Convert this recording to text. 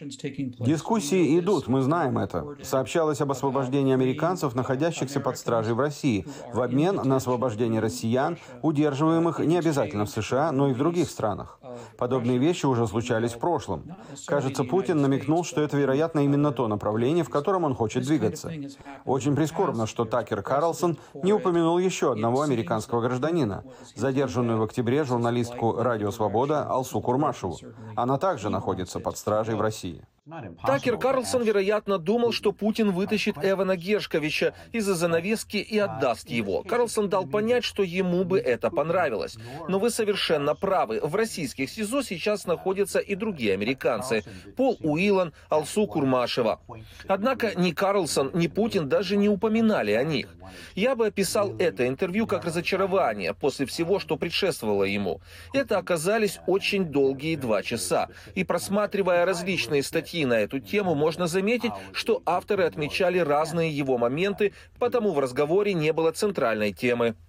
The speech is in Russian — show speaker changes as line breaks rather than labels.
Дискуссии идут, мы знаем это. Сообщалось об освобождении американцев, находящихся под стражей в России, в обмен на освобождение россиян, удерживаемых не обязательно в США, но и в других странах. Подобные вещи уже случались в прошлом. Кажется, Путин намекнул, что это, вероятно, именно то направление, в котором он хочет двигаться. Очень прискорбно, что Такер Карлсон не упомянул еще одного американского гражданина, задержанную в октябре журналистку «Радио Свобода» Алсу Курмашеву. Она также находится под стражей в России.
Такер Карлсон, вероятно, думал, что Путин вытащит Эвана Гершковича из-за занавески и отдаст его. Карлсон дал понять, что ему бы это понравилось. Но вы совершенно правы. В российских СИЗО сейчас находятся и другие американцы. Пол Уиллан, Алсу Курмашева. Однако ни Карлсон, ни Путин даже не упоминали о них. Я бы описал это интервью как разочарование после всего, что предшествовало ему. Это оказались очень долгие 2 часа. И просматривая различные статьи на эту тему, можно заметить, что авторы отмечали разные его моменты, потому в разговоре не было центральной темы.